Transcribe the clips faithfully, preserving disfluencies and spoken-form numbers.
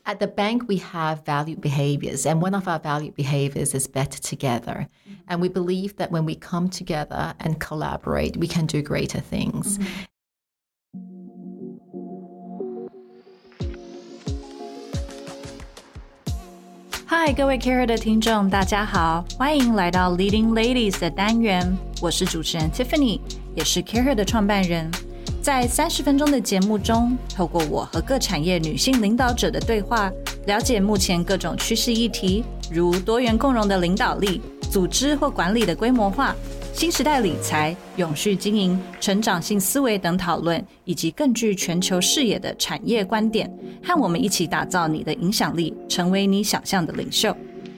At the bank, we have valued behaviors, and one of our valued behaviors is better together. Mm-hmm. And we believe that when we come together and collaborate, we can do greater things. Mm-hmm. Hi， 各位 Career 的听众，大家好，欢迎来到 Leading Ladies 的单元，我是主持人 Tiffany， 也是 Career 的创办人。在三十分钟的节目中，透过我和各产业女性领导者的对话，了解目前各种趋势议题，如多元共融的领导力、组织或管理的规模化、新时代理财、永续经营、成长性思维等讨论，以及更具全球视野的产业观点，和我们一起打造你的影响力，成为你想象的领袖。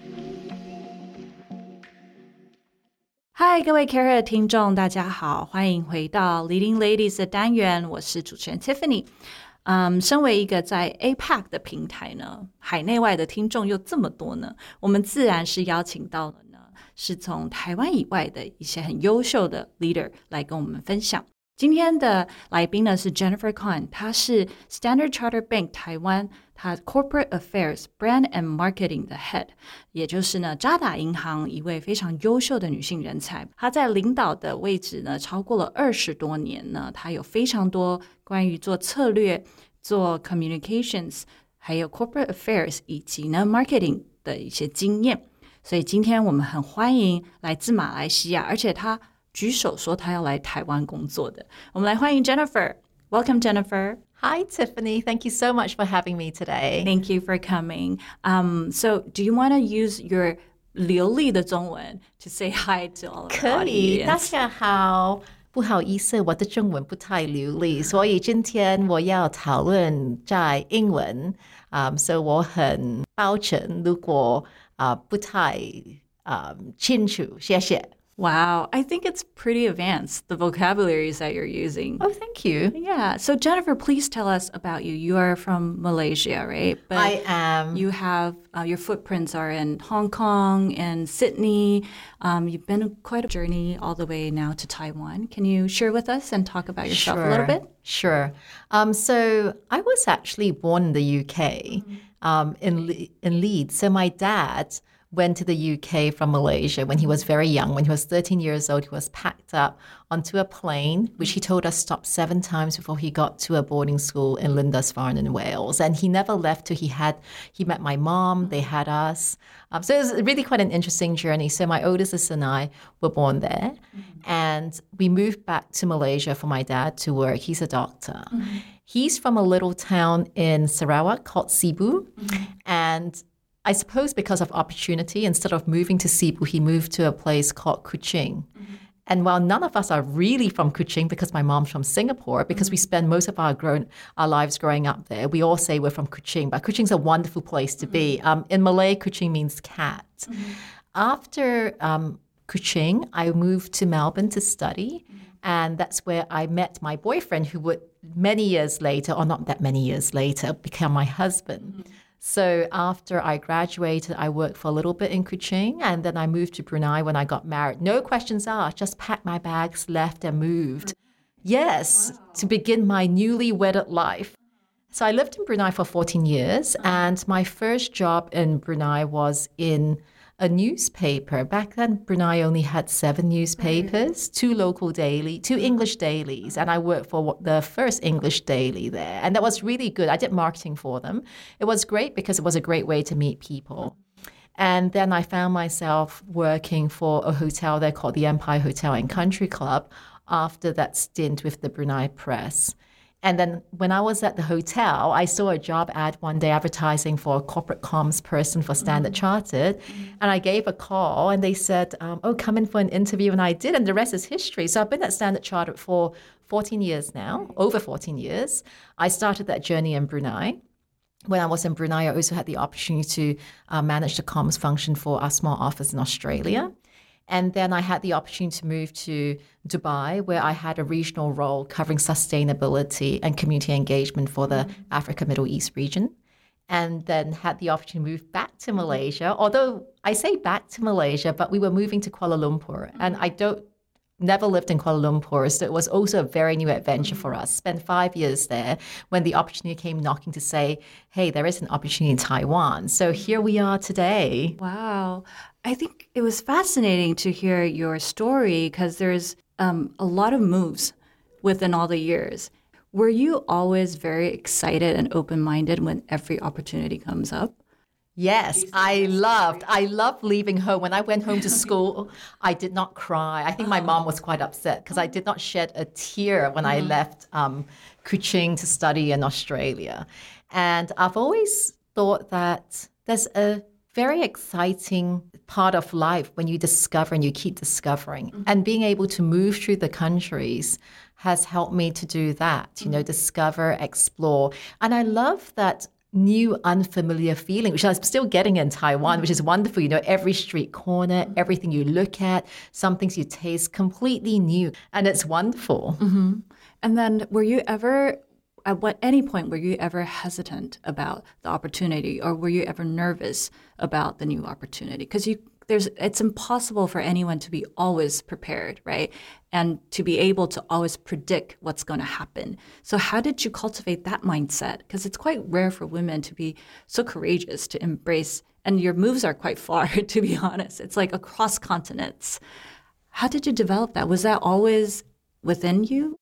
嗨，各位 Career 的听众，大家好，欢迎回到 Leading Ladies 的单元，我是主持人 Tiffany。嗯，身为一个在 A P E C 的平台呢，海内外的听众又这么多呢，我们自然是邀请到了呢，是从台湾以外的一些很优秀的 leader 来跟我们分享。今天的来宾呢是 Jennifer Kwan， 她是 Standard Chartered Bank 台湾她 Corporate Affairs Brand and Marketing 的 Head， 也就是呢渣打银行一位非常优秀的女性人才。她在领导的位置呢超过了二十多年呢，她有非常多关于做策略、做 communications， 还有 corporate affairs 以及呢 marketing 的一些经验。所以今天我们很欢迎来自马来西亚，而且她举手说她要来台湾工作的。我们来欢迎 Jennifer。Welcome, Jennifer. Hi, Tiffany. Thank you so much for having me today. Thank you for coming. Um, so do you want to use your 流利的中文 to say hi to all of the audience? 可以，大家好。不好意思，我的中文不太流利，所以今天我要讨论在英文。Um, 所以我很抱歉，如果、uh, 不太、um, 清楚，谢谢。 Wow, I think it's pretty advanced, the vocabularies that you're using. Oh, thank you. Yeah. So, Jennifer, please tell us about you. You are from Malaysia, right? But I am. You have, uh, your footprints are in Hong Kong and Sydney. Um, you've been on quite a journey all the way now to Taiwan. Can you share with us and talk about yourself sure, a little bit? Sure. Um, so, I was actually born in the U K, mm-hmm. um, in, Le- in Leeds. So, my dad went to the U K from Malaysia when he was very young. When he was thirteen years old, he was packed up onto a plane, which he told us stopped seven times before he got to a boarding school in Lindisfarne in Wales. And he never left till he had, he met my mom, they had us. Um, so it was really quite an interesting journey. So my older sister and I were born there. Mm-hmm. And we moved back to Malaysia for my dad to work. He's a doctor. Mm-hmm. He's from a little town in Sarawak called Sibu. Mm-hmm. And I suppose because of opportunity, instead of moving to Sibu, he moved to a place called Kuching. Mm-hmm. And while none of us are really from Kuching, because my mom's from Singapore, because mm-hmm. we spend most of our grown our lives growing up there, we all say we're from Kuching. But Kuching's a wonderful place to mm-hmm. be. Um, in Malay, Kuching means cat. Mm-hmm. After um, Kuching, I moved to Melbourne to study. Mm-hmm. And that's where I met my boyfriend, who would many years later, or not that many years later, become my husband. Mm-hmm. So after I graduated, I worked for a little bit in Kuching, and then I moved to Brunei when I got married. No questions asked, just packed my bags, left and moved. Yes, wow. To begin my newly wedded life. So I lived in Brunei for fourteen years, and my first job in Brunei was in a newspaper. Back then, Brunei only had seven newspapers, two local daily, two English dailies, and I worked for the first English daily there. And that was really good. I did marketing for them. It was great because it was a great way to meet people. And then I found myself working for a hotel there called the Empire Hotel and Country Club after that stint with the Brunei Press. And then when I was at the hotel, I saw a job ad one day advertising for a corporate comms person for Standard mm-hmm. Chartered. And I gave a call and they said, um, oh, come in for an interview. And I did. And the rest is history. So I've been at Standard Chartered for fourteen years now, over fourteen years. I started that journey in Brunei. When I was in Brunei, I also had the opportunity to uh, manage the comms function for our small office in Australia. And then I had the opportunity to move to Dubai, where I had a regional role covering sustainability and community engagement for the mm-hmm. Africa Middle East region. And then had the opportunity to move back to Malaysia. Although I say back to Malaysia, but we were moving to Kuala Lumpur. Mm-hmm. And I don't never lived in Kuala Lumpur, so it was also a very new adventure for us. Spent five years there when the opportunity came knocking to say, hey, there is an opportunity in Taiwan. So here we are today. Wow. I think it was fascinating to hear your story because there's um, a lot of moves within all the years. Were you always very excited and open-minded when every opportunity comes up? Yes, I loved, I loved leaving home. When I went home to school, I did not cry. I think my mom was quite upset because I did not shed a tear when I left um, Kuching to study in Australia. And I've always thought that there's a very exciting part of life when you discover and you keep discovering. Mm-hmm. And being able to move through the countries has helped me to do that, you know, discover, explore. And I love that new unfamiliar feeling, which I'm still getting in Taiwan, which is wonderful. You know, every street corner, everything you look at, some things you taste, completely new. And it's wonderful. Mm-hmm. And then were you ever, at what any point, were you ever hesitant about the opportunity, or were you ever nervous about the new opportunity? Because you there's it's impossible for anyone to be always prepared, right? And to be able to always predict what's going to happen. So how did you cultivate that mindset? Because it's quite rare for women to be so courageous to embrace, and your moves are quite far, to be honest. It's like across continents. How did you develop that? Was that always within you?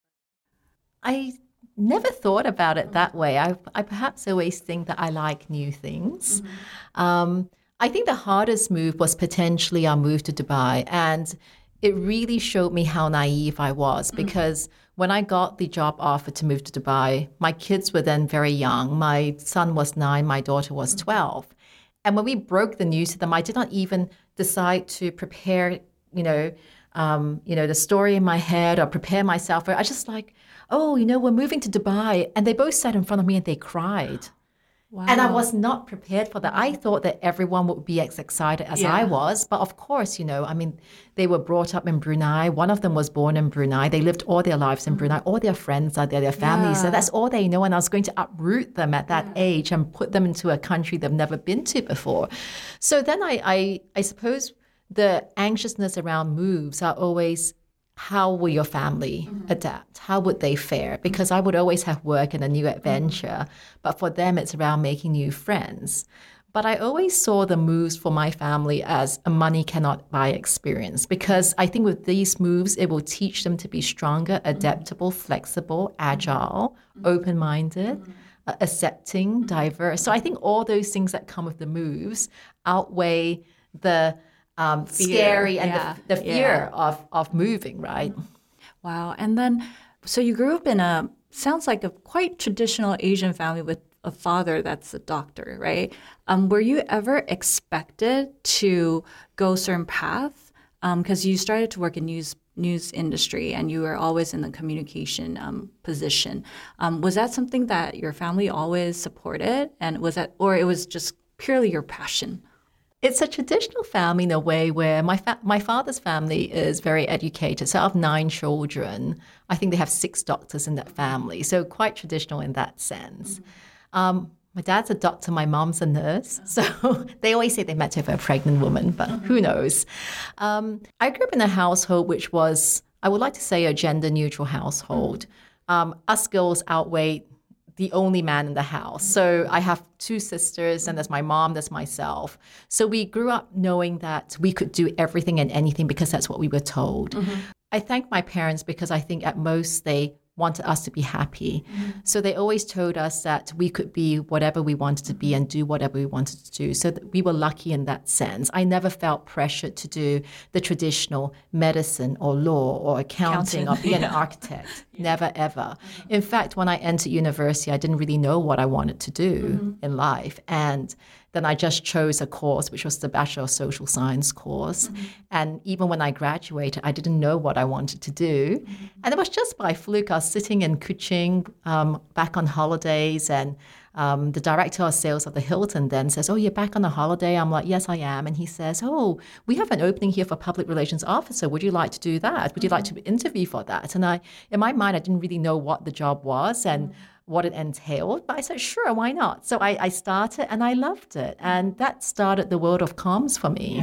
I never thought about it that way. I, I perhaps always think that I like new things. Mm-hmm. Um, I think the hardest move was potentially our move to Dubai. And it really showed me how naive I was, because mm-hmm. when I got the job offer to move to Dubai, my kids were then very young. My son was nine, my daughter was twelve. And when we broke the news to them, I did not even decide to prepare, you know, um, you know, the story in my head or prepare myself. I just like, oh, you know, we're moving to Dubai. And they both sat in front of me and they cried. Wow. And I was not prepared for that. I thought that everyone would be as excited as yeah. I was. But of course, you know, I mean, they were brought up in Brunei. One of them was born in Brunei. They lived all their lives in Brunei. All their friends are there, their families. Yeah. So that's all they know. And I was going to uproot them at that yeah. age and put them into a country they've never been to before. So then I, I, I suppose the anxiousness around moves are always, how will your family mm-hmm. adapt? How would they fare? Because I would always have work and a new adventure. Mm-hmm. But for them, it's around making new friends. But I always saw the moves for my family as a money cannot buy experience, because I think with these moves, it will teach them to be stronger, adaptable, mm-hmm. flexible, agile, mm-hmm. open-minded, mm-hmm. uh, accepting, mm-hmm. diverse. So I think all those things that come with the moves outweigh the Um, scary and yeah. the, the fear yeah. of, of moving, right? Wow. And then, so you grew up in a, sounds like a quite traditional Asian family with a father that's a doctor, right? Um, were you ever expected to go a certain path? Because um, you started to work in news news industry and you were always in the communication um, position. Um, was that something that your family always supported? And was that, or it was just purely your passion? It's a traditional family in a way where my fa- my father's family is very educated. So out of nine children, I think they have six doctors in that family. So quite traditional in that sense. Mm-hmm. Um, my dad's a doctor, my mom's a nurse. So they always say they met her for a pregnant woman, but mm-hmm. who knows? Um, I grew up in a household which was, I would like to say, a gender neutral household. Um, us girls outweighed the only man in the house. So I have two sisters, and there's my mom, there's myself. So we grew up knowing that we could do everything and anything because that's what we were told. Mm-hmm. I thank my parents because I think at most they wanted us to be happy. Mm-hmm. So they always told us that we could be whatever we wanted to be and do whatever we wanted to do. So that we were lucky in that sense. I never felt pressured to do the traditional medicine or law or accounting, accounting. or being yeah. an architect. Yeah. Never, ever. Mm-hmm. In fact, when I entered university, I didn't really know what I wanted to do mm-hmm. in life. And then I just chose a course, which was the Bachelor of Social Science course. Mm-hmm. And even when I graduated, I didn't know what I wanted to do. Mm-hmm. And it was just by fluke. I was sitting in Kuching um, back on holidays, and um, the director of sales of the Hilton then says, oh, you're back on a holiday? I'm like, yes, I am. And he says, oh, we have an opening here for public relations officer. Would you like to do that? Would you mm-hmm. like to interview for that? And I, in my mind, I didn't really know what the job was. And mm-hmm. what it entailed, but I said, sure, why not? So I, I started and I loved it. And that started the world of comms for me. Yeah.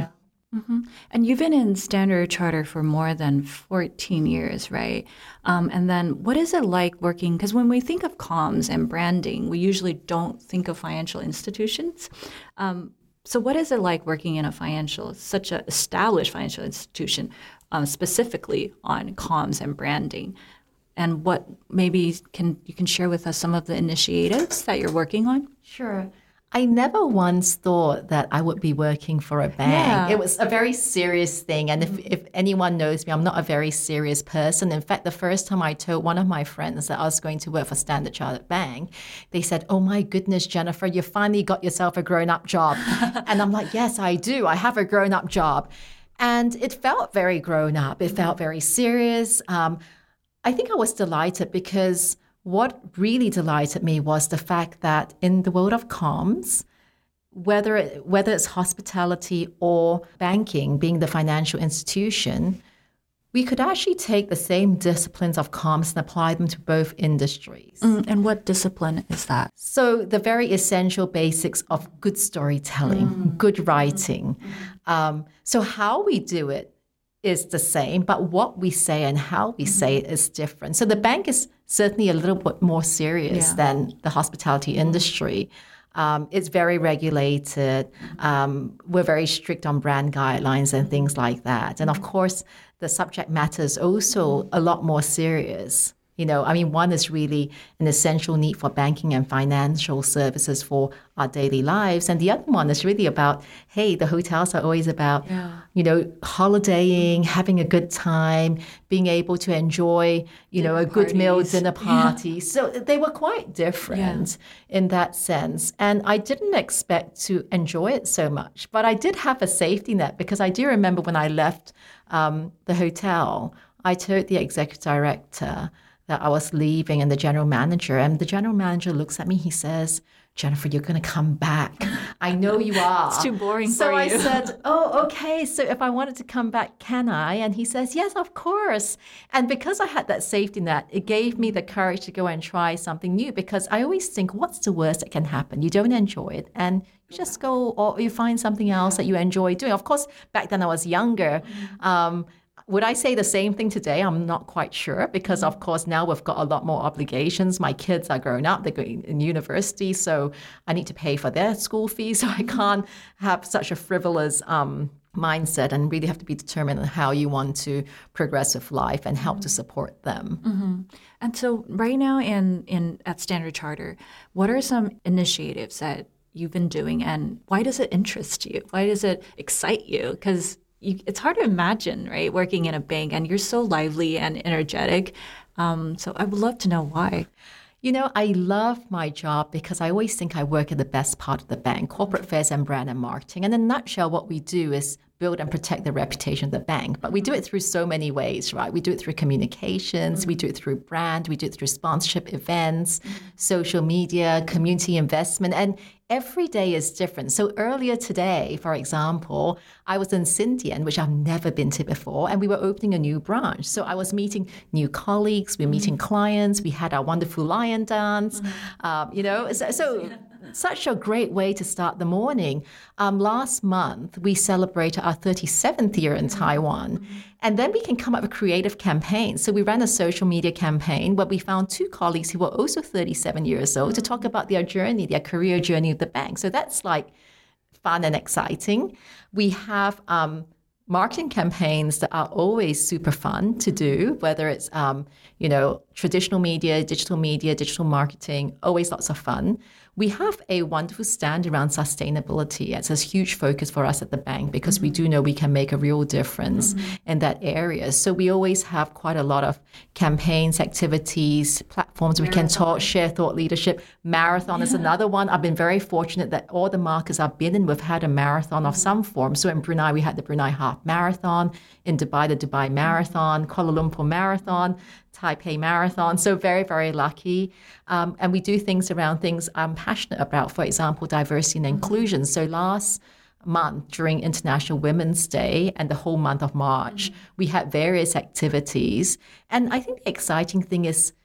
Mm-hmm. And you've been in Standard Chartered for more than fourteen years, right? Um, and then what is it like working? Because when we think of comms and branding, we usually don't think of financial institutions. Um, so what is it like working in a financial, such an established financial institution, um, specifically on comms and branding? And what maybe can you can share with us some of the initiatives that you're working on? Sure. I never once thought that I would be working for a bank. Yeah. It was a very serious thing. And if, if anyone knows me, I'm not a very serious person. In fact, the first time I told one of my friends that I was going to work for Standard Chartered Bank, they said, oh my goodness, Jennifer, you finally got yourself a grown-up job. And I'm like, yes, I do. I have a grown-up job. And it felt very grown up. It felt very serious. Um, I think I was delighted because what really delighted me was the fact that in the world of comms, whether it, whether it's hospitality or banking, being the financial institution, we could actually take the same disciplines of comms and apply them to both industries. Mm, and what discipline is that? So the very essential basics of good storytelling, mm. good writing. Mm. Um, so how we do it is the same, but what we say and how we mm-hmm. say it is different. So the bank is certainly a little bit more serious yeah. than the hospitality industry. Um, it's very regulated. Um, we're very strict on brand guidelines and things like that. And of course, the subject matter is also a lot more serious. You know, I mean, one is really an essential need for banking and financial services for our daily lives. And the other one is really about, hey, the hotels are always about, yeah. you know, holidaying, having a good time, being able to enjoy, you dinner know, a parties. Good meal, dinner party. Yeah. So they were quite different yeah. in that sense. And I didn't expect to enjoy it so much. But I did have a safety net because I do remember when I left um, the hotel, I told the executive director that I was leaving and the general manager. And the general manager looks at me, he says, Jennifer, you're going to come back. I know you are. It's too boring so for I you. So I said, oh, okay. So if I wanted to come back, can I? And he says, yes, of course. And because I had that safety net, it gave me the courage to go and try something new because I always think, what's the worst that can happen? You don't enjoy it and you just go or you find something else that you enjoy doing. Of course, back then I was younger. Um, Would I say the same thing today? I'm not quite sure because, of course, now we've got a lot more obligations. My kids are grown up. They're going in university, so I need to pay for their school fees. So I can't have such a frivolous um, mindset and really have to be determined on how you want to progress with life and help to support them. Mm-hmm. And so right now in, in at Standard Chartered, what are some initiatives that you've been doing and why does it interest you? Why does it excite you? Because You, it's hard to imagine, right, working in a bank, and you're so lively and energetic. Um, so I would love to know why. You know, I love my job because I always think I work at the best part of the bank, corporate affairs and brand and marketing. And in a nutshell, what we do is build and protect the reputation of the bank. But we do it through so many ways, right? We do it through communications, we do it through brand, we do it through sponsorship events, social media, community investment, and every day is different. So earlier today, for example, I was in Sintian, which I've never been to before, and we were opening a new branch. So I was meeting new colleagues, we were meeting mm-hmm. clients, we had our wonderful lion dance, mm-hmm. um, you know, so, so such a great way to start the morning. Um, last month, we celebrated our thirty-seventh year in mm-hmm. Taiwan. Mm-hmm. And then we can come up with creative campaigns. So we ran a social media campaign where we found two colleagues who were also thirty-seven years old to talk about their journey, their career journey of the bank. So that's like fun and exciting. We have um, marketing campaigns that are always super fun to do, whether it's, um, you know, traditional media, digital media, digital marketing, always lots of fun. We have a wonderful stand around sustainability. It's a huge focus for us at the bank because mm-hmm. we do know we can make a real difference mm-hmm. in that area. So we always have quite a lot of campaigns, activities, platforms. Marathon. We can talk, share thought leadership. Marathon yeah. is another one. I've been very fortunate that all the markets I've been in, we've had a marathon mm-hmm. of some form. So in Brunei, we had the Brunei Half Marathon. In Dubai, the Dubai Marathon, Kuala Lumpur Marathon, Taipei Marathon. So very, very lucky. Um, and we do things around things I'm passionate about, for example, diversity and inclusion. So last month during International Women's Day and the whole month of March, mm-hmm. we had various activities. And I think the exciting thing is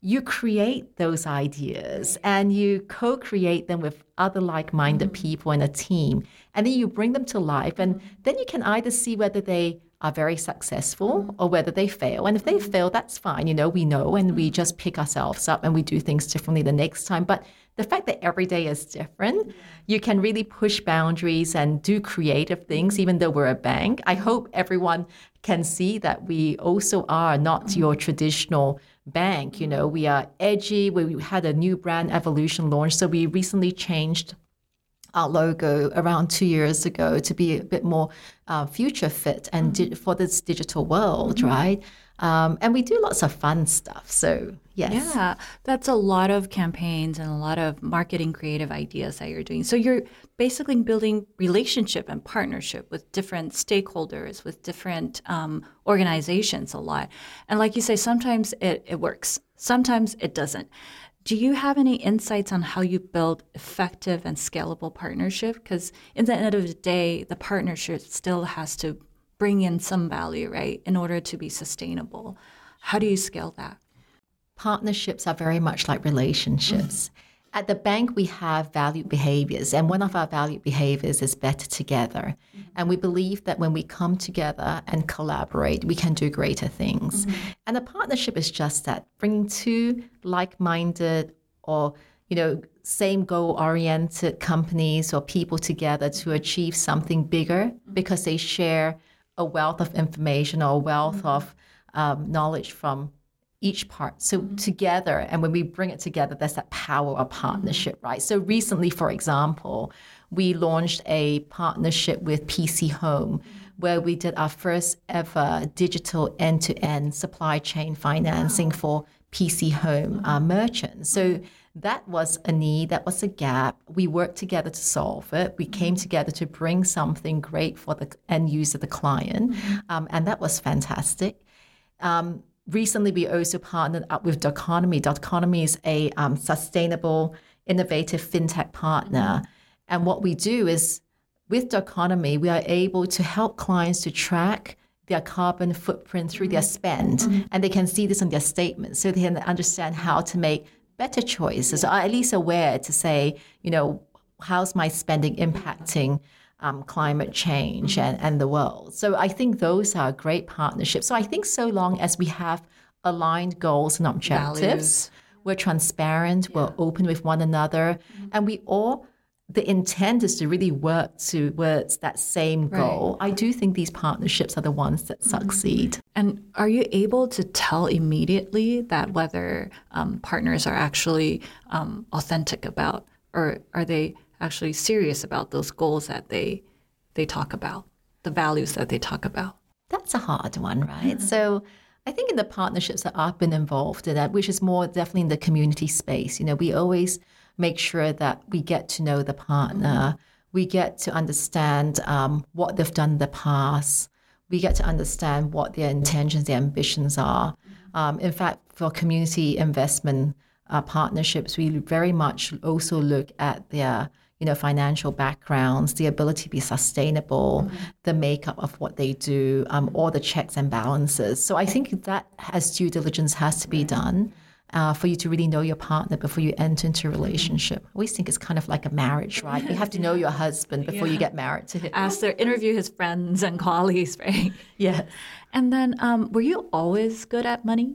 you create those ideas and you co-create them with other like-minded mm-hmm. people in a team, and then you bring them to life, and mm-hmm. then you can either see whether they are very successful mm-hmm. or whether they fail. And if they fail, that's fine. You know, we know, and we just pick ourselves up and we do things differently the next time. But the fact that every day is different, you can really push boundaries and do creative things, even though we're a bank. I hope everyone can see that we also are not your traditional bank. You know, we are edgy. We had a new brand evolution launch. So we recently changed our logo around two years ago to be a bit more uh, future fit and di- for this digital world, mm-hmm. right? Um, and we do lots of fun stuff. So, yes. Yeah, that's a lot of campaigns and a lot of marketing creative ideas that you're doing. So you're basically building relationship and partnership with different stakeholders, with different um, organizations a lot. And like you say, sometimes it, it works. Sometimes it doesn't. Do you have any insights on how you build effective and scalable partnership? Because in the end of the day, the partnership still has to bring in some value, right, in order to be sustainable. How do you scale that? Partnerships are very much like relationships. Mm-hmm. At the bank, we have valued behaviors, and one of our valued behaviors is better together. Mm-hmm. And we believe that when we come together and collaborate, we can do greater things. Mm-hmm. And a partnership is just that, bringing two like-minded or, you know, same goal-oriented companies or people together to achieve something bigger mm-hmm. because they share a wealth of information or a wealth mm-hmm. of um, knowledge from each part. So mm-hmm. together, and when we bring it together, there's that power of partnership, mm-hmm. right? So recently, for example, we launched a partnership with P C Home, mm-hmm. where we did our first ever digital end-to-end supply chain financing wow. for P C Home mm-hmm. uh, merchants. So that was a need, that was a gap. We worked together to solve it. We came together to bring something great for the end user, the client, mm-hmm. um, and that was fantastic. Um, Recently, we also partnered up with Doconomy. Doconomy is a um, sustainable, innovative fintech partner. Mm-hmm. And what we do is, with Doconomy, we are able to help clients to track their carbon footprint through mm-hmm. their spend. Mm-hmm. And they can see this on their statements, so they can understand how to make better choices, yeah. or at least aware to say, you know, how's my spending impacting Um, climate change and, and the world. So I think those are great partnerships. So I think so long as we have aligned goals and objectives, Values. We're transparent, yeah. we're open with one another, mm-hmm. and we all, the intent is to really work towards that same goal. Right. I do think these partnerships are the ones that mm-hmm. succeed. And are you able to tell immediately that whether um, partners are actually um, authentic about, or are they actually serious about those goals that they they talk about, the values that they talk about? That's a hard one, right? Mm-hmm. So I think in the partnerships that I've been involved in, that which is more definitely in the community space, you know, we always make sure that we get to know the partner, mm-hmm. we get to understand um, what they've done in the past, we get to understand what their intentions, their ambitions are. Mm-hmm. Um, in fact, for community investment uh, partnerships, we very much also look at their you know, financial backgrounds, the ability to be sustainable, mm-hmm. the makeup of what they do, um, all the checks and balances. So I think that has due diligence has to be done uh, for you to really know your partner before you enter into a relationship. I always think it's kind of like a marriage, right? You have to know your husband before yeah. you get married to him. Ask their, interview his friends and colleagues, right? Yes. And then um, were you always good at money?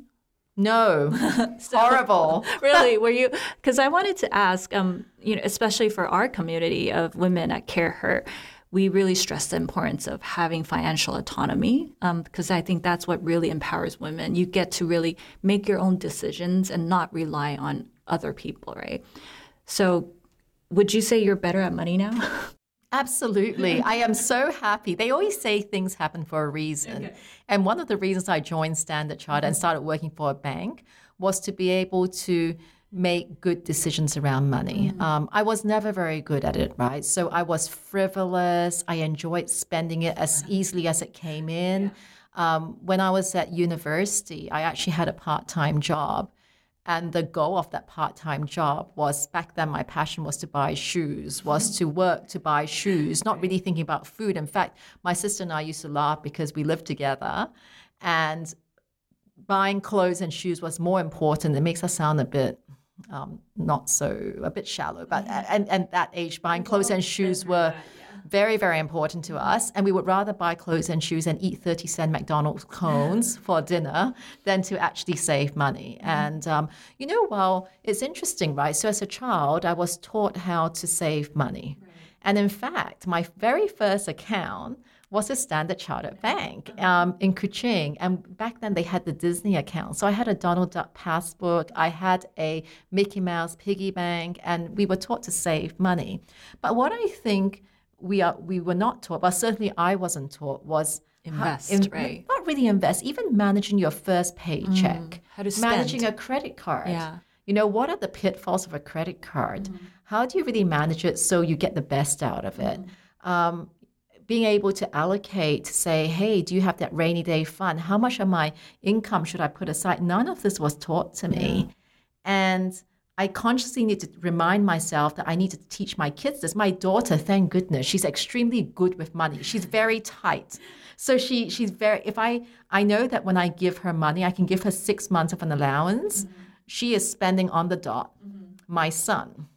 No, so, horrible. Really, were you? Because I wanted to ask, um, you know, especially for our community of women at CareHer, we really stress the importance of having financial autonomy, because um, I think that's what really empowers women. You get to really make your own decisions and not rely on other people, right? So, would you say you're better at money now? Absolutely. I am so happy. They always say things happen for a reason. Okay. And one of the reasons I joined Standard Chartered mm-hmm. and started working for a bank was to be able to make good decisions around money. Mm-hmm. Um, I was never very good at it, right? So I was frivolous. I enjoyed spending it as easily as it came in. Yeah. Um, when I was at university, I actually had a part-time job. And the goal of that part-time job was, back then my passion was to buy shoes, was to work to buy shoes, not really thinking about food. In fact, my sister and I used to laugh because we lived together. And buying clothes and shoes was more important. It makes us sound a bit um, not so, a bit shallow. But and, and that age, buying clothes and shoes were very, very important to us. And we would rather buy clothes and shoes and eat thirty cent McDonald's cones for dinner than to actually save money. Mm-hmm. And, um, you know, well, it's interesting, right? So as a child, I was taught how to save money. Right. And in fact, my very first account was a Standard Chartered Bank um, in Kuching. And back then they had the Disney account. So I had a Donald Duck passbook. I had a Mickey Mouse piggy bank, and we were taught to save money. But what I think we are we were not taught, but certainly I wasn't taught, was invest, how, in, right? Not really invest, even managing your first paycheck, mm, how to spend. Managing a credit card. Yeah. You know, what are the pitfalls of a credit card? Mm. How do you really manage it so you get the best out of it? Mm. Um, being able to allocate, to say, hey, do you have that rainy day fund? How much of my income should I put aside? None of this was taught to me. Yeah. And I consciously need to remind myself that I need to teach my kids this. My daughter, thank goodness, she's extremely good with money. She's very tight. So she she's very, if I, I know that when I give her money, I can give her six months of an allowance. Mm-hmm. She is spending on the dot. Mm-hmm. My son,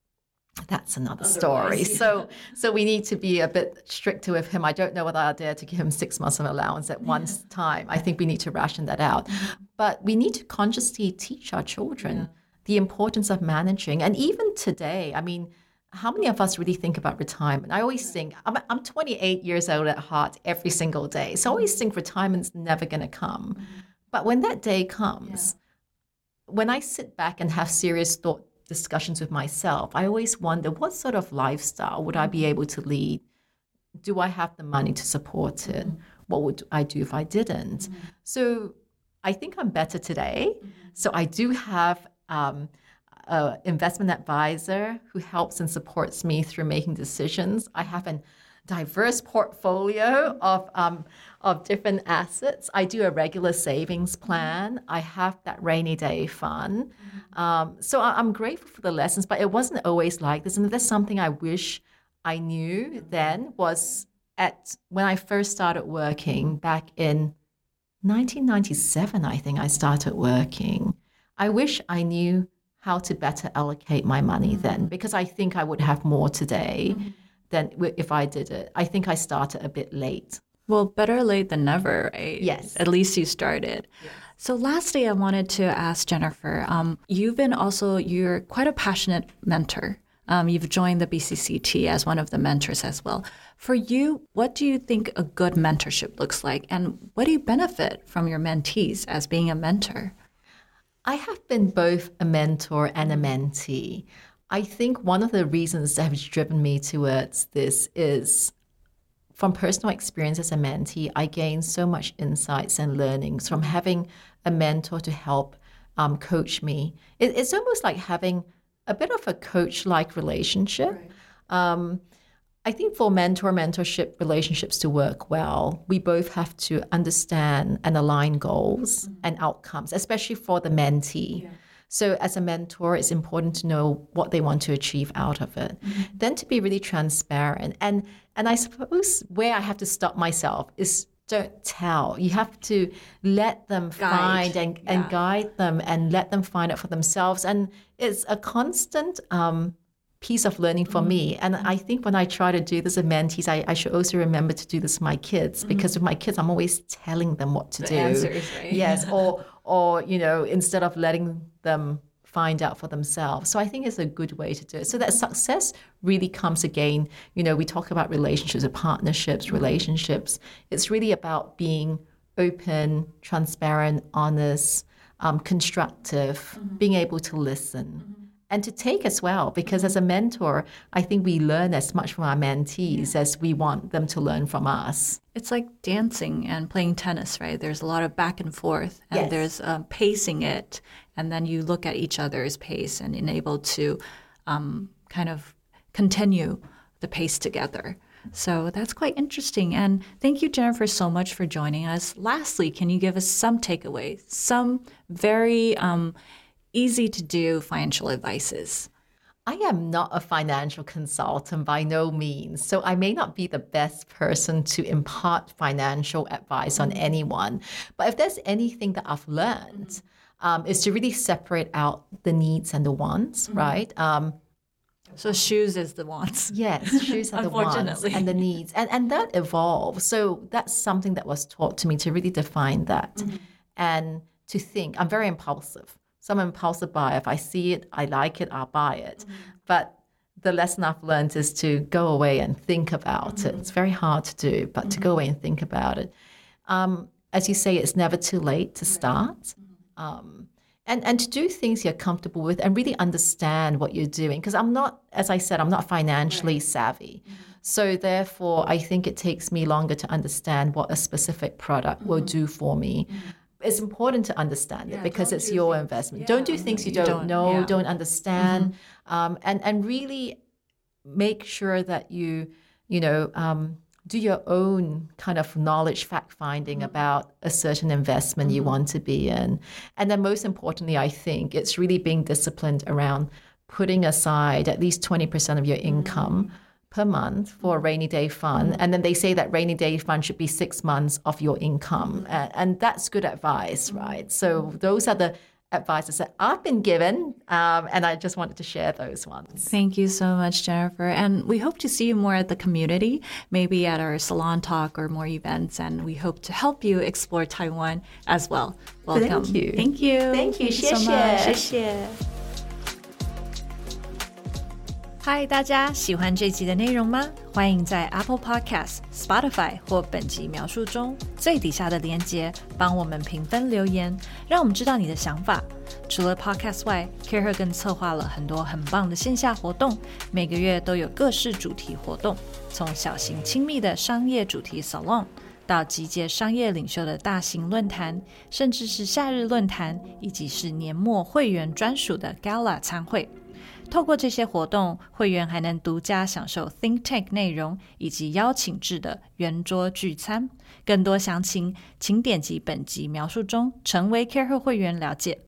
that's another Otherwise, story. Yeah. So so we need to be a bit stricter with him. I don't know whether I'll dare to give him six months of allowance at yeah. one time. I think we need to ration that out. Mm-hmm. But we need to consciously teach our children yeah. the importance of managing. And even today, I mean, how many of us really think about retirement? I always think, I'm, I'm twenty-eight years old at heart every single day. So I always think retirement's never going to come. Mm-hmm. But when that day comes, yeah. when I sit back and have serious thought discussions with myself, I always wonder, what sort of lifestyle would I be able to lead? Do I have the money to support it? Mm-hmm. What would I do if I didn't? Mm-hmm. So I think I'm better today. Mm-hmm. So I do have um, an investment advisor who helps and supports me through making decisions. I have a diverse portfolio of um, of different assets. I do a regular savings plan. I have that rainy day fund. Mm-hmm. Um, so I, I'm grateful for the lessons, but it wasn't always like this. And there's something I wish I knew then was at when I first started working back in nineteen ninety-seven, I think I started working. I wish I knew how to better allocate my money mm-hmm. then, because I think I would have more today mm-hmm. than if I did it. I think I started a bit late. Well, better late than never, right? Yes. At least you started. Yes. So lastly, I wanted to ask Jennifer, um, you've been also, you're quite a passionate mentor. Um, you've joined the B C C T as one of the mentors as well. For you, what do you think a good mentorship looks like? And what do you benefit from your mentees as being a mentor? I have been both a mentor and a mentee. I think one of the reasons that has driven me towards this is from personal experience as a mentee, I gained so much insights and learnings from having a mentor to help um, coach me. It, it's almost like having a bit of a coach-like relationship. Right. Um, I think for mentor-mentorship relationships to work well, we both have to understand and align goals mm-hmm. and outcomes, especially for the mentee. Yeah. So as a mentor, it's important to know what they want to achieve out of it. Mm-hmm. Then to be really transparent. And and I suppose where I have to stop myself is don't tell. You have to let them guide. find and, yeah. and guide them and let them find it for themselves. And it's a constant um, piece of learning for mm-hmm. me. And I think when I try to do this with mentees, I, I should also remember to do this with my kids, mm-hmm. because with my kids, I'm always telling them what to the do. Answers, right? Yes, or or you know, instead of letting them find out for themselves. So I think it's a good way to do it. So that success really comes again, you know, we talk about relationships or partnerships, relationships. It's really about being open, transparent, honest, um, constructive, mm-hmm. being able to listen. Mm-hmm. And to take as well, because as a mentor, I think we learn as much from our mentees yeah. as we want them to learn from us. It's like dancing and playing tennis, right? There's a lot of back and forth, and yes. there's um, pacing it, and then you look at each other's pace and enable to um, kind of continue the pace together. So that's quite interesting. And thank you, Jennifer, so much for joining us. Lastly, can you give us some takeaways, some very um, easy to do financial advices? I am not a financial consultant by no means, so I may not be the best person to impart financial advice on anyone. But if there's anything that I've learned, um, is to really separate out the needs and the wants, right? Um, So shoes is the wants. Yes, shoes are the wants and the needs. And, and that evolves. So that's something that was taught to me to really define that mm-hmm. and to think. I'm very impulsive. So I'm an impulsive buyer. If I see it, I like it, I'll buy it. Mm-hmm. But the lesson I've learned is to go away and think about mm-hmm. it. It's very hard to do, but mm-hmm. to go away and think about it. Um, as you say, it's never too late to start. Mm-hmm. Um, And, and to do things you're comfortable with and really understand what you're doing. Because I'm not, as I said, I'm not financially right. savvy. Mm-hmm. So therefore, I think it takes me longer to understand what a specific product mm-hmm. will do for me. Mm-hmm. It's important to understand yeah, it because it's your things. investment. Yeah. Don't do things you, you don't, don't know, yeah. don't understand. Mm-hmm. Um, and, and really make sure that you, you know, um, do your own kind of knowledge fact-finding mm-hmm. about a certain investment mm-hmm. you want to be in. And then most importantly, I think it's really being disciplined around putting aside at least twenty percent of your income mm-hmm. per month for a rainy day fund. Mm-hmm. And then they say that rainy day fund should be six months of your income. Mm-hmm. And, and that's good advice, mm-hmm. right? So those are the advices that I've been given, um, and I just wanted to share those ones. Thank you so much, Jennifer. And we hope to see you more at the community, maybe at our salon talk or more events, and we hope to help you explore Taiwan as well. Welcome. Thank you. Thank you. Thank you. Thank you so much. 谢谢。嗨，大家喜欢这集的内容吗？欢迎在 Apple Podcast、Spotify 或本集描述中最底下的连结帮我们评分留言，让我们知道你的想法。除了 Podcast 外 Kara 更策划了很多很棒的线下活动，每个月都有各式主题活动，从小型亲密的商业主题 Salon 到集结商业领袖的大型论坛，甚至是夏日论坛，以及是年末会员专属的 Gala 餐会。透过这些活动，会员还能独家享受 Think Tank 内容以及邀请制的圆桌聚餐。更多详情请点击本集描述中成为 Kara 会员了解。